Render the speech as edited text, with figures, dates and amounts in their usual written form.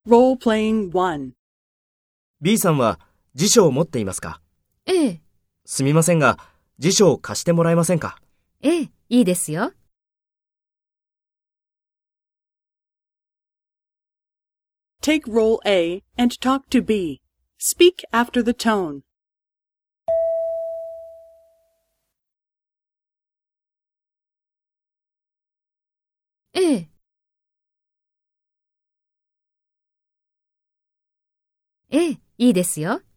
Role-playing 1. B さんは辞書を持っていますか？ ええ、 すみませんが、辞書を貸してもらえませんか？ ええ、いいですよ。 Take role A and talk to B. Speak after the tone. ええ、ええ、いいですよ。